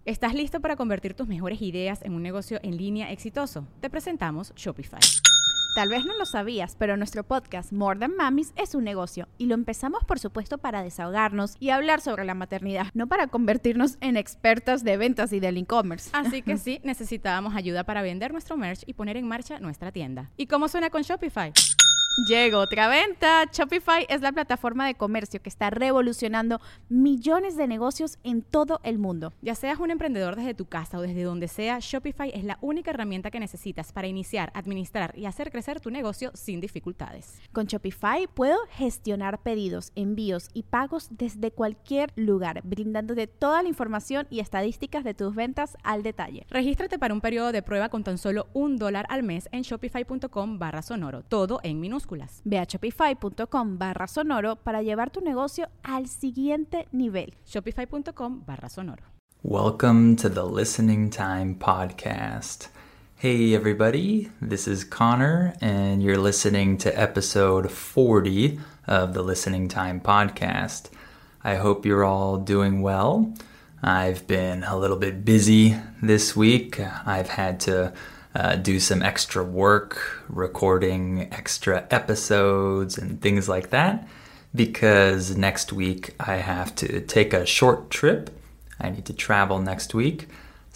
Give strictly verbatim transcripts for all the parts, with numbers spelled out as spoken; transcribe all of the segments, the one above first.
¿Estás listo para convertir tus mejores ideas en un negocio en línea exitoso? Te presentamos Shopify. Tal vez no lo sabías, pero nuestro podcast More Than Mamis es un negocio y lo empezamos por supuesto para desahogarnos y hablar sobre la maternidad, no para convertirnos en expertas de ventas y del e-commerce. Así que sí, necesitábamos ayuda para vender nuestro merch y poner en marcha nuestra tienda. ¿Y cómo suena con Shopify? Llegó otra venta. Shopify es la plataforma de comercio que está revolucionando millones de negocios en todo el mundo. Ya seas un emprendedor desde tu casa o desde donde sea, Shopify es la única herramienta que necesitas para iniciar, administrar y hacer crecer tu negocio sin dificultades. Con Shopify puedo gestionar pedidos, envíos y pagos desde cualquier lugar, brindándote toda la información y estadísticas de tus ventas al detalle. Regístrate para un periodo de prueba con tan solo un dólar al mes en shopify.com barra sonoro, todo en minúsculas. Ve a shopify.com barra sonoro para llevar tu negocio al siguiente nivel. Shopify.com barra sonoro. Welcome to the Listening Time Podcast. Hey everybody, this is Connor and you're listening to episode forty of the Listening Time Podcast. I hope you're all doing well. I've been a little bit busy this week. I've had to Uh, do some extra work, recording extra episodes and things like that, because next week I have to take a short trip. I need to travel next week,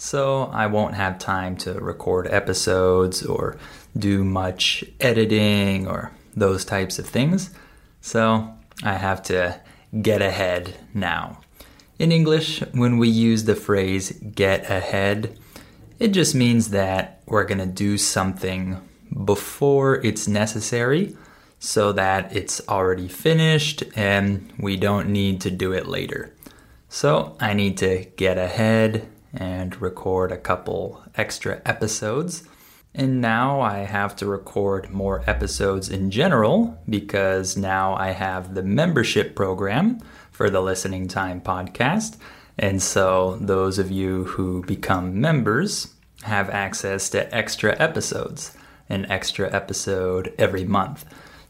so I won't have time to record episodes or do much editing or those types of things. So I have to get ahead now. In English, when we use the phrase get ahead, it just means that we're going to do something before it's necessary so that it's already finished and we don't need to do it later. So I need to get ahead and record a couple extra episodes. And now I have to record more episodes in general because now I have the membership program for the Listening Time Podcast. And so those of you who become members have access to extra episodes, an extra episode every month.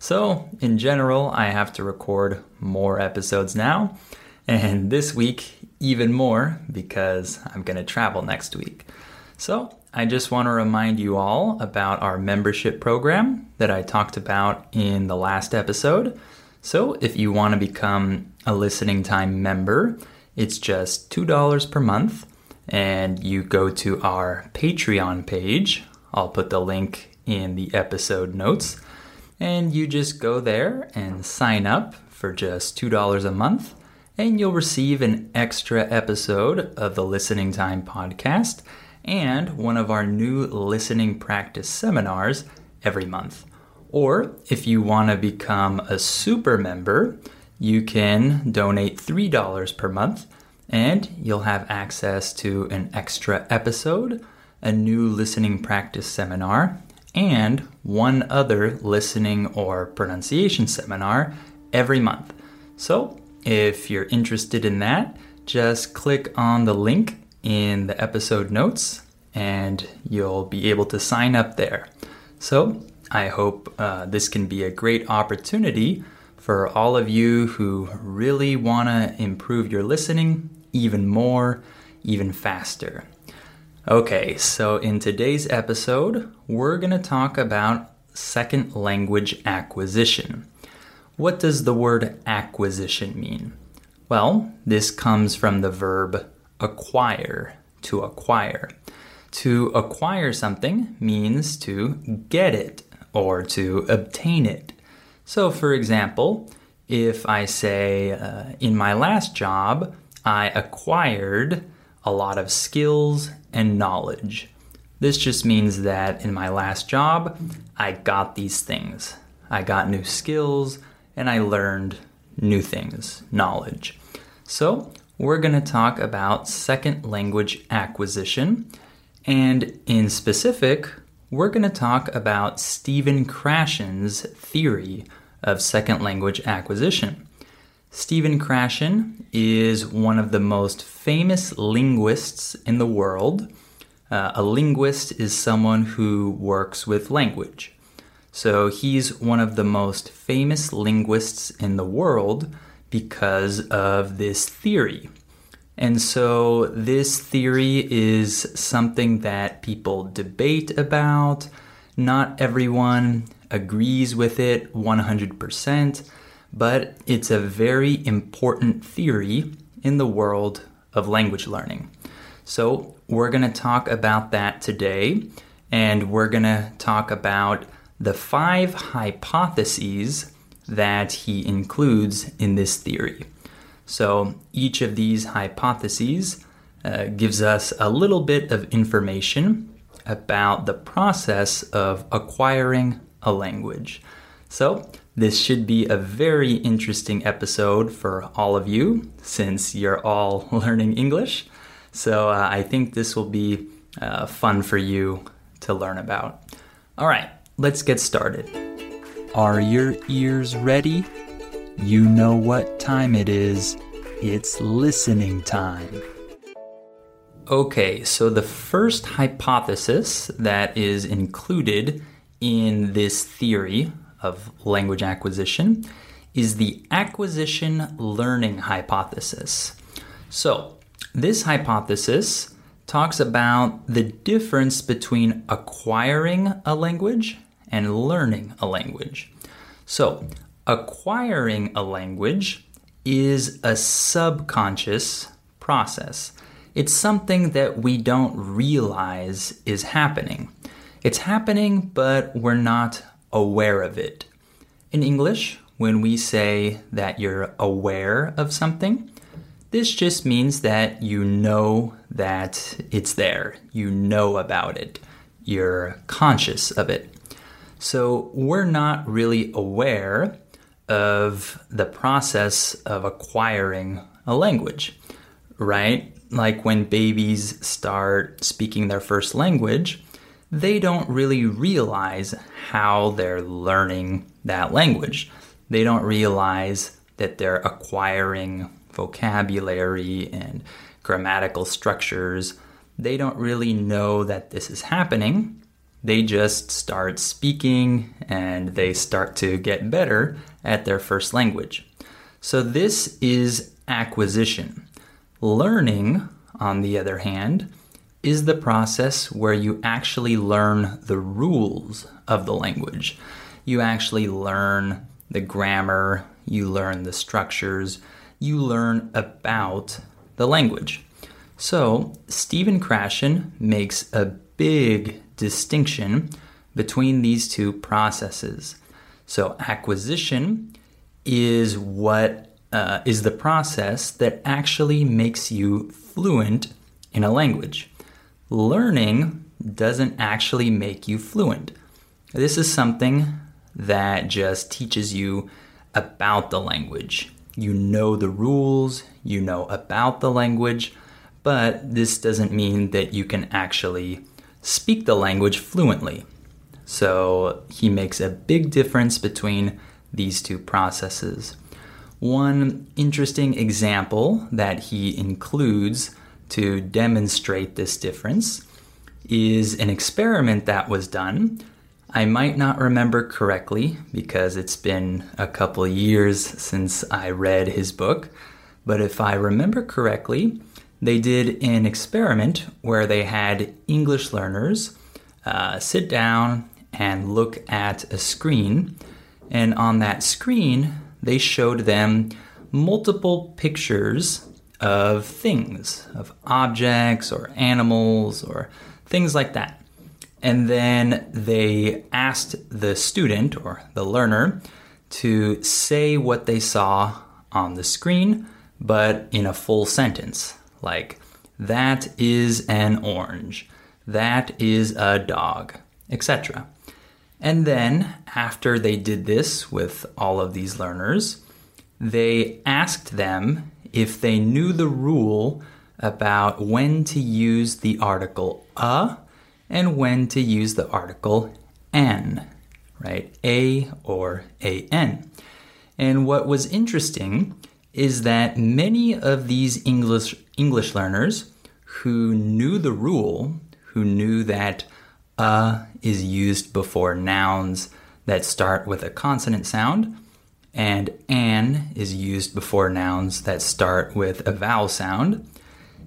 So in general, I have to record more episodes now. And this week, even more because I'm going to travel next week. So I just want to remind you all about our membership program that I talked about in the last episode. So if you want to become a Listening Time member, it's just two dollars per month, and you go to our Patreon page. I'll put the link in the episode notes, and you just go there and sign up for just two dollars a month, and you'll receive an extra episode of the Listening Time Podcast and one of our new listening practice seminars every month. Or if you want to become a super member, you can donate three dollars per month, and you'll have access to an extra episode, a new listening practice seminar, and one other listening or pronunciation seminar every month. So if you're interested in that, just click on the link in the episode notes and you'll be able to sign up there. So I hope uh, this can be a great opportunity for all of you who really want to improve your listening even more, even faster. Okay, so in today's episode, we're going to talk about second language acquisition. What does the word acquisition mean? Well, this comes from the verb acquire, to acquire. To acquire something means to get it or to obtain it. So, for example, if I say, uh, in my last job, I acquired a lot of skills and knowledge. This just means that in my last job, I got these things. I got new skills and I learned new things, knowledge. So we're going to talk about second language acquisition. And in specific, we're going to talk about Stephen Krashen's theory of second language acquisition. Stephen Krashen is one of the most famous linguists in the world. Uh, a linguist is someone who works with language. So he's one of the most famous linguists in the world because of this theory. And so this theory is something that people debate about. Not everyone agrees with it one hundred percent, but it's a very important theory in the world of language learning. So we're going to talk about that today, and we're going to talk about the five hypotheses that he includes in this theory. So each of these hypotheses uh, gives us a little bit of information about the process of acquiring a language. So this should be a very interesting episode for all of you, since you're all learning English. So uh, I think this will be uh, fun for you to learn about. All right, let's get started. Are your ears ready? You know what time it is. It's listening time. Okay, so the first hypothesis that is included in this theory of language acquisition is the acquisition learning hypothesis. So, this hypothesis talks about the difference between acquiring a language and learning a language. So, acquiring a language is a subconscious process. It's something that we don't realize is happening. It's happening, but we're not aware of it. In English, when we say that you're aware of something, this just means that you know that it's there. You know about it. You're conscious of it. So we're not really aware of the process of acquiring a language, right? Like when babies start speaking their first language, they don't really realize how they're learning that language. They don't realize that they're acquiring vocabulary and grammatical structures. They don't really know that this is happening. They just start speaking and they start to get better at their first language. So this is acquisition. Learning, on the other hand, is the process where you actually learn the rules of the language. You actually learn the grammar, you learn the structures, you learn about the language. So Stephen Krashen makes a big distinction between these two processes. So acquisition is what uh, is the process that actually makes you fluent in a language. Learning doesn't actually make you fluent. This is something that just teaches you about the language. You know the rules, you know about the language, but this doesn't mean that you can actually speak the language fluently. So he makes a big difference between these two processes. One interesting example that he includes to demonstrate this difference is an experiment that was done. I might not remember correctly because it's been a couple of years since I read his book, but if I remember correctly, they did an experiment where they had English learners uh, sit down and look at a screen, and on that screen, they showed them multiple pictures of things, of objects or animals or things like that. And then they asked the student or the learner to say what they saw on the screen, but in a full sentence. Like, that is an orange, that is a dog, et cetera. And then, after they did this with all of these learners, they asked them if they knew the rule about when to use the article a and when to use the article an, right? A or an. And what was interesting is that many of these English English learners who knew the rule, who knew that a is used before nouns that start with a consonant sound, and an is used before nouns that start with a vowel sound,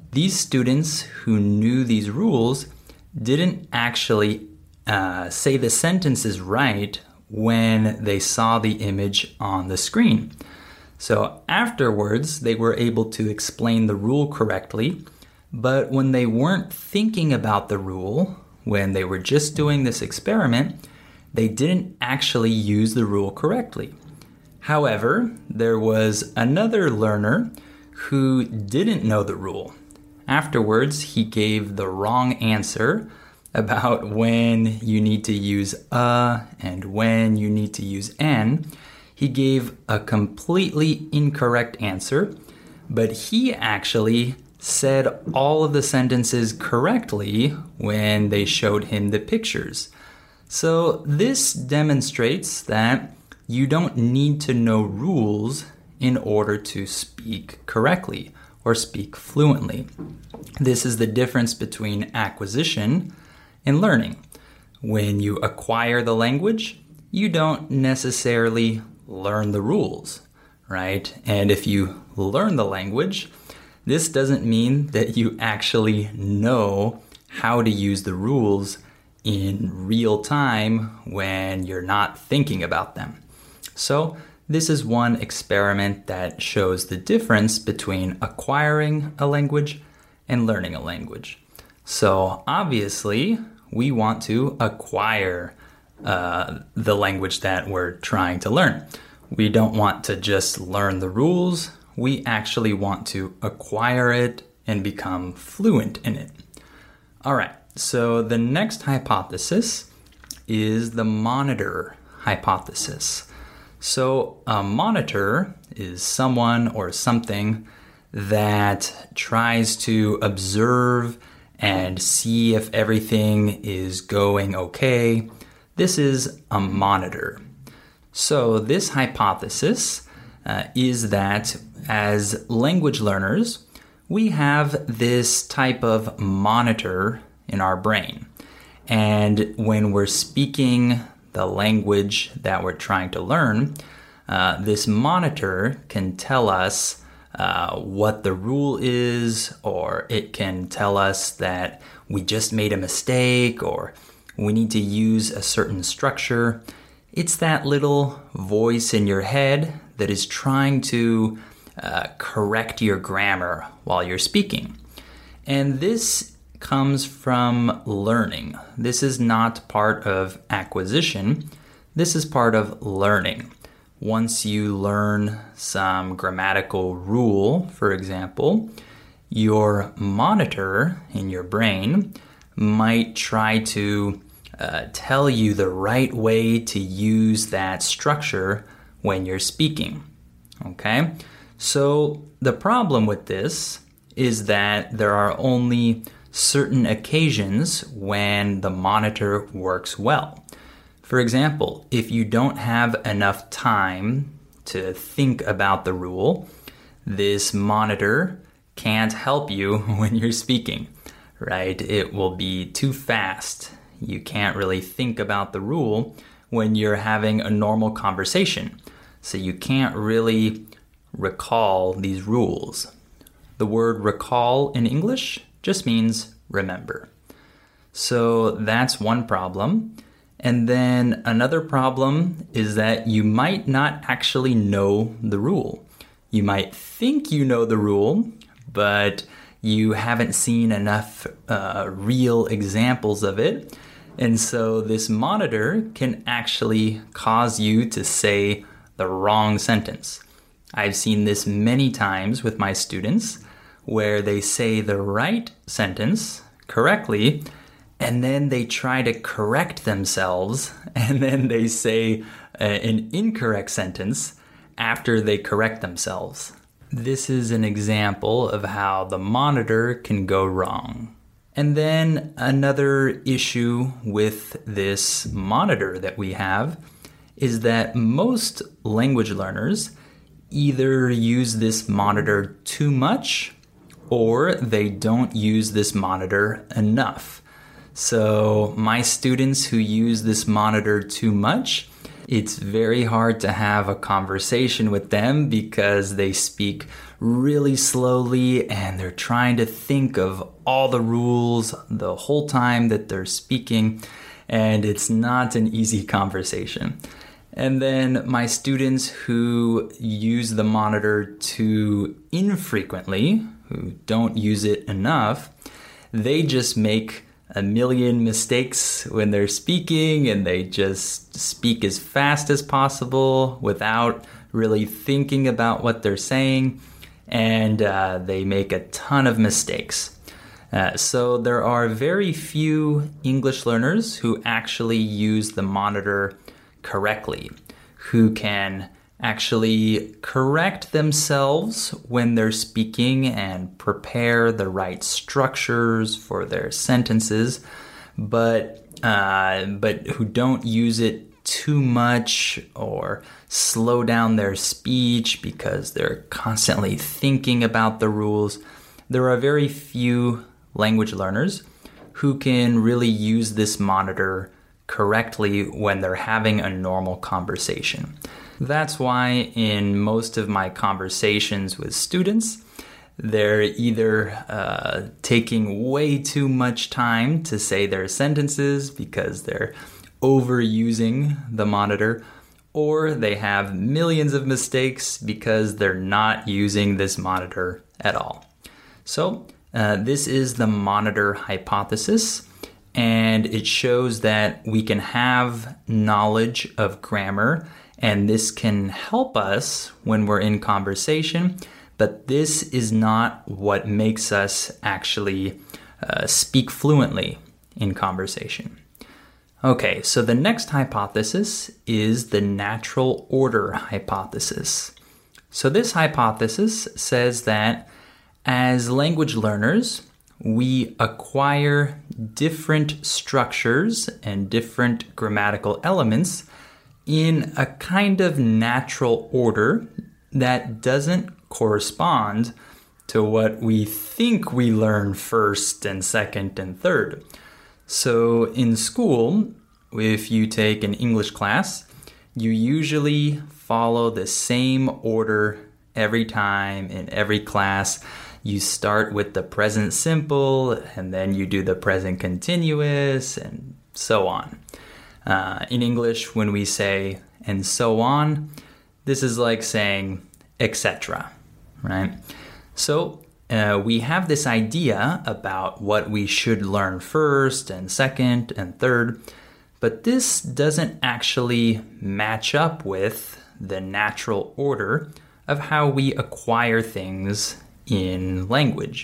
these students who knew these rules didn't actually uh, say the sentences right when they saw the image on the screen. So afterwards, they were able to explain the rule correctly, but when they weren't thinking about the rule, when they were just doing this experiment, they didn't actually use the rule correctly. However, there was another learner who didn't know the rule. Afterwards, he gave the wrong answer about when you need to use a and when you need to use an. He gave a completely incorrect answer, but he actually said all of the sentences correctly when they showed him the pictures. So this demonstrates that you don't need to know rules in order to speak correctly or speak fluently. This is the difference between acquisition and learning. When you acquire the language, you don't necessarily learn the rules, right? And if you learn the language, this doesn't mean that you actually know how to use the rules in real time when you're not thinking about them. So this is one experiment that shows the difference between acquiring a language and learning a language. So obviously, we want to acquire uh, the language that we're trying to learn. We don't want to just learn the rules. We actually want to acquire it and become fluent in it. All right, so the next hypothesis is the monitor hypothesis. So a monitor is someone or something that tries to observe and see if everything is going okay. This is a monitor. So this hypothesis uh, is that as language learners, we have this type of monitor in our brain. And when we're speaking the language that we're trying to learn, uh, this monitor can tell us uh, what the rule is, or it can tell us that we just made a mistake, or we need to use a certain structure. It's that little voice in your head that is trying to uh, correct your grammar while you're speaking. And this comes from learning. This is not part of acquisition. This is part of learning. Once you learn some grammatical rule, for example, your monitor in your brain might try to uh, tell you the right way to use that structure when you're speaking. Okay? So the problem with this is that there are only certain occasions when the monitor works well. For example, if you don't have enough time to think about the rule, this monitor can't help you when you're speaking, right? It will be too fast. You can't really think about the rule when you're having a normal conversation. So you can't really recall these rules. The word recall in English just means remember. So that's one problem. And then another problem is that you might not actually know the rule. You might think you know the rule, but you haven't seen enough uh, real examples of it. And so this monitor can actually cause you to say the wrong sentence. I've seen this many times with my students where they say the right sentence correctly, and then they try to correct themselves, and then they say uh, an incorrect sentence after they correct themselves. This is an example of how the monitor can go wrong. And then another issue with this monitor that we have is that most language learners either use this monitor too much or they don't use this monitor enough. So my students who use this monitor too much, it's very hard to have a conversation with them because they speak really slowly, and they're trying to think of all the rules the whole time that they're speaking, and it's not an easy conversation. And then my students who use the monitor too infrequently, who don't use it enough, they just make a million mistakes when they're speaking, and they just speak as fast as possible without really thinking about what they're saying, and uh, they make a ton of mistakes. Uh, so there are very few English learners who actually use the monitor correctly, who can actually correct themselves when they're speaking and prepare the right structures for their sentences, but uh, but who don't use it too much or slow down their speech because they're constantly thinking about the rules. There are very few language learners who can really use this monitor correctly when they're having a normal conversation. That's why in most of my conversations with students, they're either uh, taking way too much time to say their sentences because they're overusing the monitor, or they have millions of mistakes because they're not using this monitor at all. So uh, this is the monitor hypothesis, and it shows that we can have knowledge of grammar, and this can help us when we're in conversation, but this is not what makes us actually uh, speak fluently in conversation. Okay, so the next hypothesis is the natural order hypothesis. So this hypothesis says that as language learners, we acquire different structures and different grammatical elements in a kind of natural order that doesn't correspond to what we think we learn first and second and third. So in school, if you take an English class, you usually follow the same order every time in every class. You start with the present simple, and then you do the present continuous, and so on. Uh, in English, when we say and so on, this is like saying et cetera, right? So Uh, we have this idea about what we should learn first and second and third, but this doesn't actually match up with the natural order of how we acquire things in language.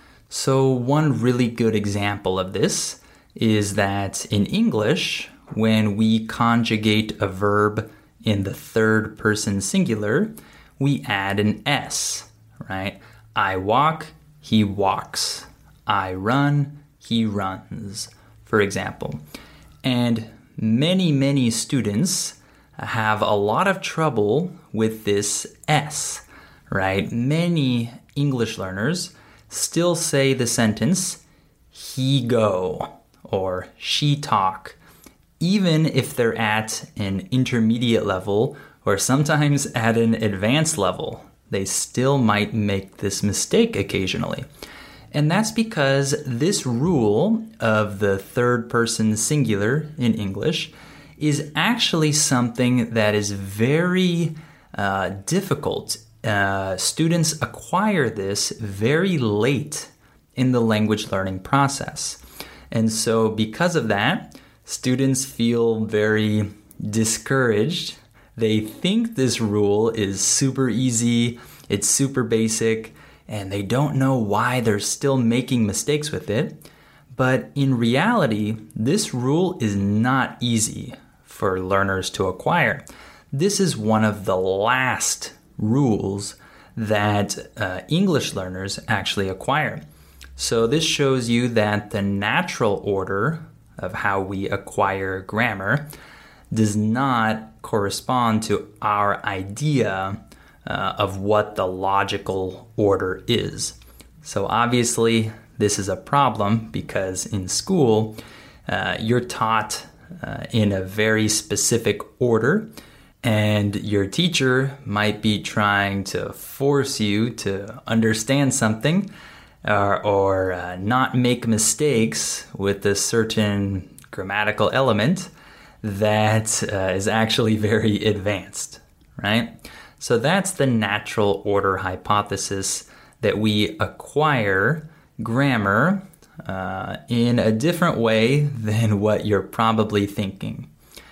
So one really good example of this is that in English, when we conjugate a verb in the third person singular, we add an S, right? I walk, he walks. I run, he runs, for example. And many, many students have a lot of trouble with this S, right? Many English learners still say the sentence, he go, or she talk, even if they're at an intermediate level or sometimes at an advanced level. They still might make this mistake occasionally. And that's because this rule of the third person singular in English is actually something that is very uh, difficult. Uh, students acquire this very late in the language learning process. And so because of that, students feel very discouraged. They think this rule is super easy, it's super basic, and they don't know why they're still making mistakes with it. But in reality, this rule is not easy for learners to acquire. This is one of the last rules that uh, English learners actually acquire. So this shows you that the natural order of how we acquire grammar does not correspond to our idea uh, of what the logical order is. So obviously, this is a problem because in school, uh, you're taught uh, in a very specific order, And your teacher might be trying to force you to understand something or, or uh, not make mistakes with a certain grammatical element that uh, is actually very advanced, right? So that's the natural order hypothesis, that we acquire grammar uh, in a different way than what you're probably thinking.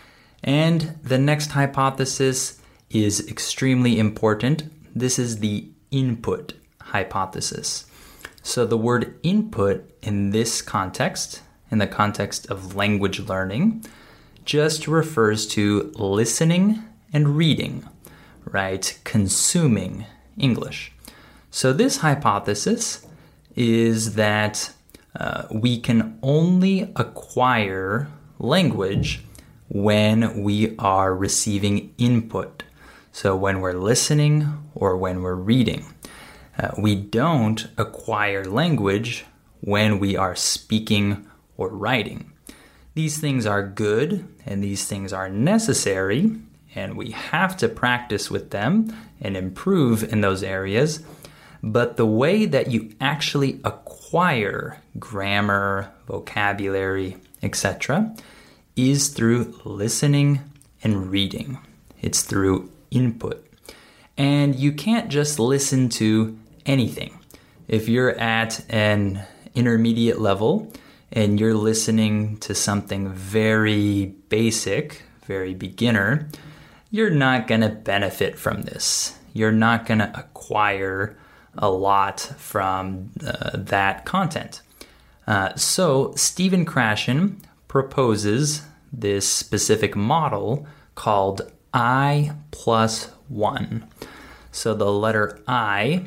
And the next hypothesis is extremely important. This is the input hypothesis. So the word input in this context, in the context of language learning, just refers to listening and reading, right? Consuming English. So this hypothesis is that uh, we can only acquire language when we are receiving input. So when we're listening or when we're reading. Uh, we don't acquire language when we are speaking or writing. These things are good and these things are necessary, and we have to practice with them and improve in those areas. But the way that you actually acquire grammar, vocabulary, et cetera is through listening and reading. It's through input. And you can't just listen to anything. If you're at an intermediate level and you're listening to something very basic, very beginner, you're not going to benefit from this. You're not going to acquire a lot from uh, that content. Uh, so Stephen Krashen proposes this specific model called I plus one. So the letter I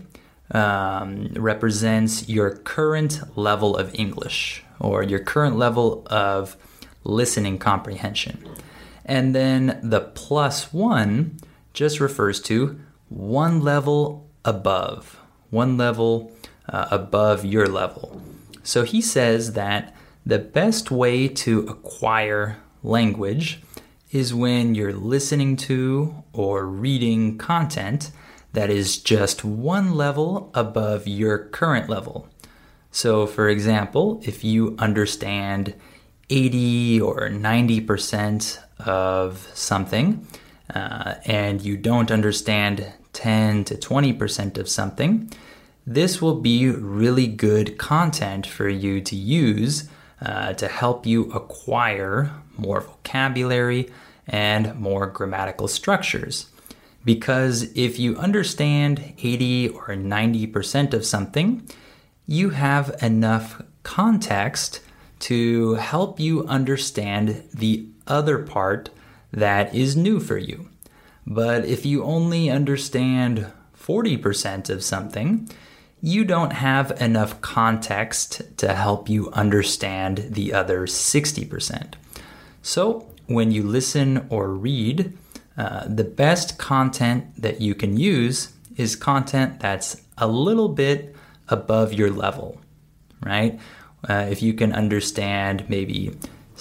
um, represents your current level of English or your current level of listening comprehension. And then the plus one just refers to one level above, one level uh, above your level. So he says that the best way to acquire language is when you're listening to or reading content that is just one level above your current level. So, for example, if you understand eighty or ninety percent of something uh, and you don't understand ten to twenty percent of something, this will be really good content for you to use uh, to help you acquire more vocabulary and more grammatical structures. Because if you understand eighty or ninety percent of something, you have enough context to help you understand the other part that is new for you. But if you only understand forty percent of something, you don't have enough context to help you understand the other sixty percent. So when you listen or read, uh, the best content that you can use is content that's a little bit above your level, right? Uh, if you can understand maybe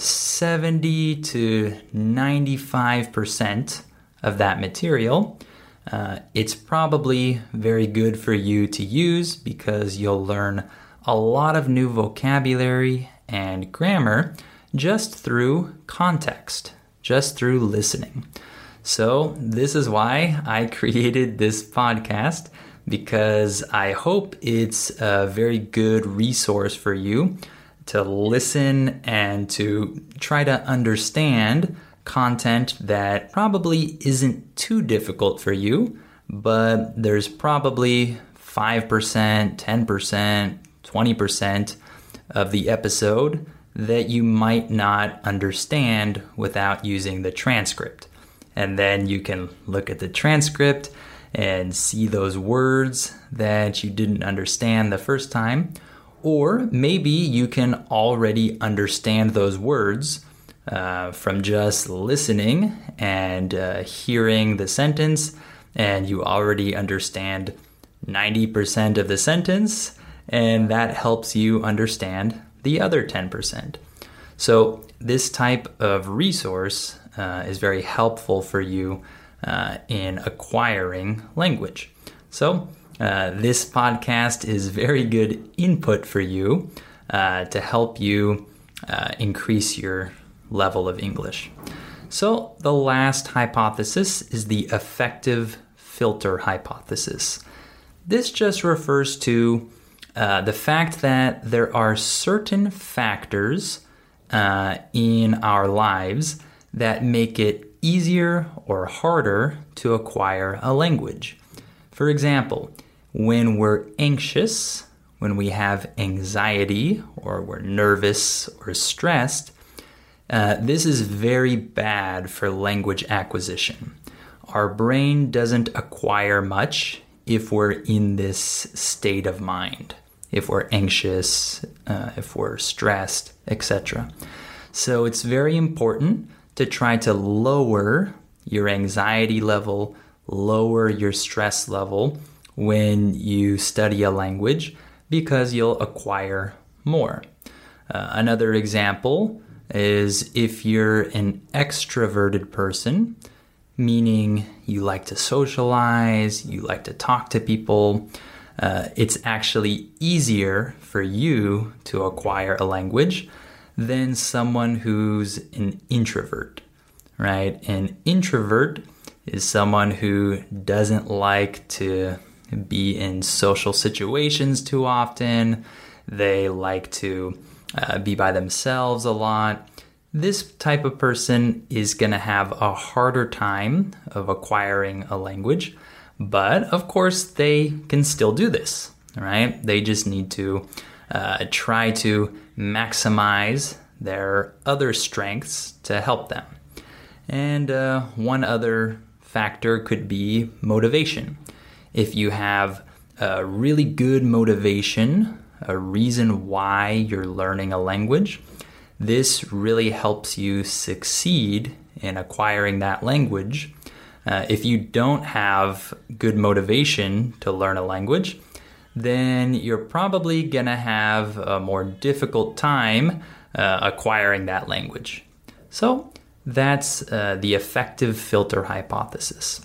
seventy to ninety-five percent of that material, uh, it's probably very good for you to use because you'll learn a lot of new vocabulary and grammar just through context, just through listening. So this is why I created this podcast, because I hope it's a very good resource for you to listen and to try to understand content that probably isn't too difficult for you, but there's probably five percent, ten percent, twenty percent of the episode that you might not understand without using the transcript. And then you can look at the transcript and see those words that you didn't understand the first time. Or maybe you can already understand those words uh, from just listening and uh, hearing the sentence, and you already understand ninety percent of the sentence, and that helps you understand the other ten percent. So this type of resource uh, is very helpful for you uh, in acquiring language. So uh, this podcast is very good input for you uh, to help you uh, increase your level of English. So the last hypothesis is the affective filter hypothesis. This just refers to uh, the fact that there are certain factors uh, in our lives that make it easier or harder to acquire a language. For example, when we're anxious, when we have anxiety, or we're nervous or stressed, uh, this is very bad for language acquisition. Our brain doesn't acquire much if we're in this state of mind, if we're anxious, uh, if we're stressed, et cetera. So it's very important to try to lower your anxiety level, lower your stress level when you study a language, because you'll acquire more. Uh, another example is if you're an extroverted person, meaning you like to socialize, you like to talk to people, uh, it's actually easier for you to acquire a language than someone who's an introvert, right? An introvert is someone who doesn't like to be in social situations too often. They like to uh, be by themselves a lot. This type of person is going to have a harder time of acquiring a language, but of course they can still do this, right? They just need to uh, try to maximize their other strengths to help them. And uh, one other factor could be motivation. If you have a really good motivation, a reason why you're learning a language, this really helps you succeed in acquiring that language. Uh, if you don't have good motivation to learn a language, then you're probably going to have a more difficult time uh, acquiring that language. So that's uh, the affective filter hypothesis.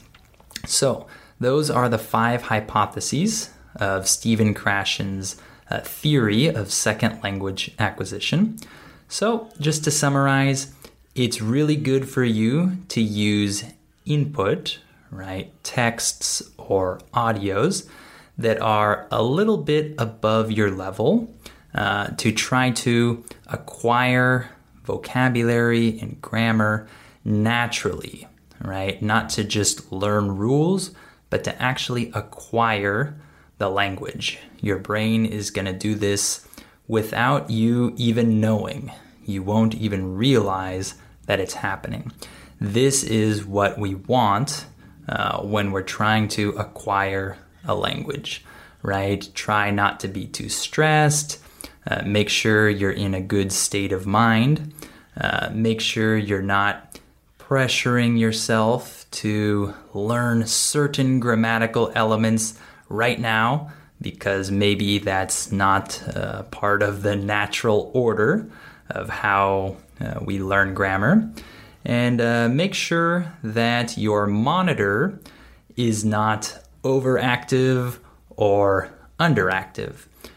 So those are the five hypotheses of Stephen Krashen's uh, theory of second language acquisition. So just to summarize, it's really good for you to use input, right, texts or audios that are a little bit above your level uh, to try to acquire vocabulary and grammar naturally, right? Not to just learn rules, but to actually acquire the language. Your brain is going to do this without you even knowing. You won't even realize that it's happening. This is what we want uh, when we're trying to acquire a language, right? Try not to be too stressed. Uh, make sure you're in a good state of mind. Uh, make sure you're not pressuring yourself to learn certain grammatical elements right now, because maybe that's not uh, part of the natural order of how uh, we learn grammar. And uh, make sure that your monitor is not overactive or underactive.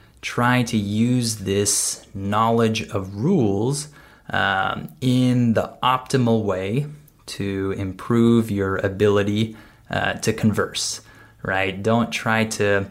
Try to use this knowledge of rules um, in the optimal way to improve your ability uh, to converse, right? Don't try to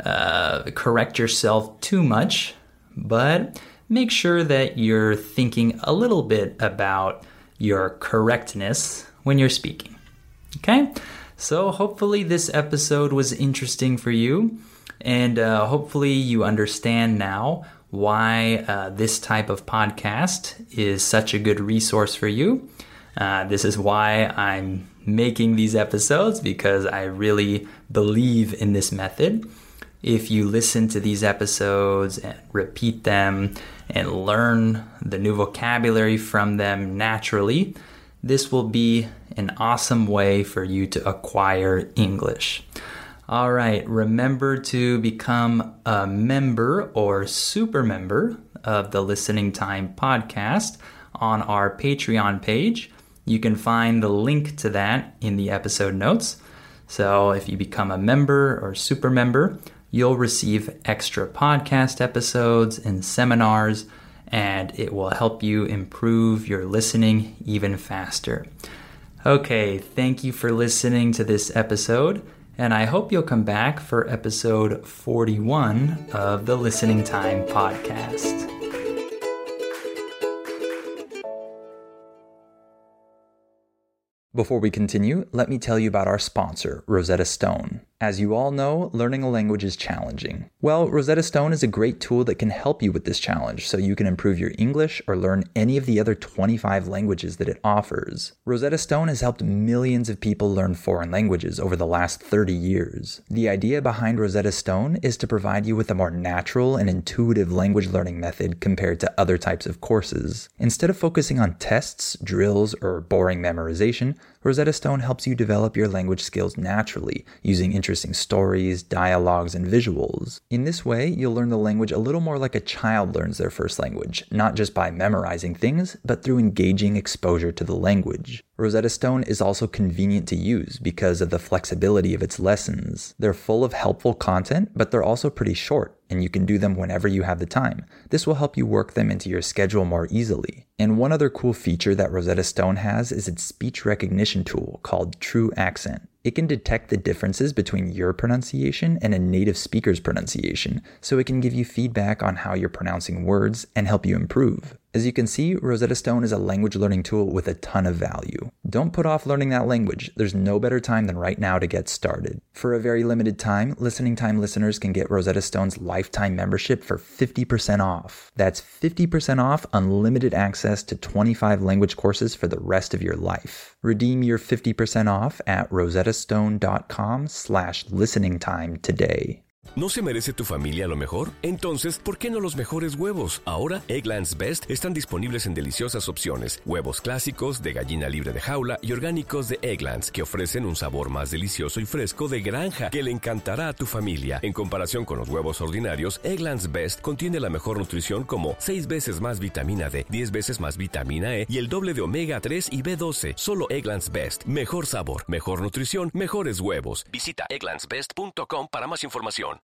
uh, correct yourself too much, but make sure that you're thinking a little bit about your correctness when you're speaking. Okay? So hopefully this episode was interesting for you, and uh, hopefully you understand now why uh, this type of podcast is such a good resource for you. Uh, this is why I'm making these episodes, because I really believe in this method. If you listen to these episodes and repeat them and learn the new vocabulary from them naturally, this will be an awesome way for you to acquire English. All right, remember to become a member or super member of the Listening Time podcast on our Patreon page. You can find the link to that in the episode notes. So if you become a member or super member, you'll receive extra podcast episodes and seminars, and it will help you improve your listening even faster. Okay, thank you for listening to this episode, and I hope you'll come back for episode forty-one of the Listening Time Podcast. Before we continue, let me tell you about our sponsor, Rosetta Stone. As you all know, learning a language is challenging. Well, Rosetta Stone is a great tool that can help you with this challenge so you can improve your English or learn any of the other twenty-five languages that it offers. Rosetta Stone has helped millions of people learn foreign languages over the last thirty years. The idea behind Rosetta Stone is to provide you with a more natural and intuitive language learning method compared to other types of courses. Instead of focusing on tests, drills, or boring memorization, Rosetta Stone helps you develop your language skills naturally, using interesting stories, dialogues, and visuals. In this way, you'll learn the language a little more like a child learns their first language, not just by memorizing things, but through engaging exposure to the language. Rosetta Stone is also convenient to use because of the flexibility of its lessons. They're full of helpful content, but they're also pretty short, and you can do them whenever you have the time. This will help you work them into your schedule more easily. And one other cool feature that Rosetta Stone has is its speech recognition tool called True Accent. It can detect the differences between your pronunciation and a native speaker's pronunciation, so it can give you feedback on how you're pronouncing words and help you improve. As you can see, Rosetta Stone is a language learning tool with a ton of value. Don't put off learning that language. There's no better time than right now to get started. For a very limited time, Listening Time listeners can get Rosetta Stone's lifetime membership for fifty percent off. That's fifty percent off unlimited access to twenty-five language courses for the rest of your life. Redeem your fifty percent off at rosettastone.com slash listening time today. ¿No se merece tu familia lo mejor? Entonces, ¿por qué no los mejores huevos? Ahora, Eggland's Best están disponibles en deliciosas opciones. Huevos clásicos, de gallina libre de jaula y orgánicos de Eggland's, que ofrecen un sabor más delicioso y fresco de granja que le encantará a tu familia. En comparación con los huevos ordinarios, Eggland's Best contiene la mejor nutrición como seis veces más vitamina D, diez veces más vitamina E y el doble de omega tres y B doce. Solo Eggland's Best. Mejor sabor, mejor nutrición, mejores huevos. Visita egglands best punto com para más información.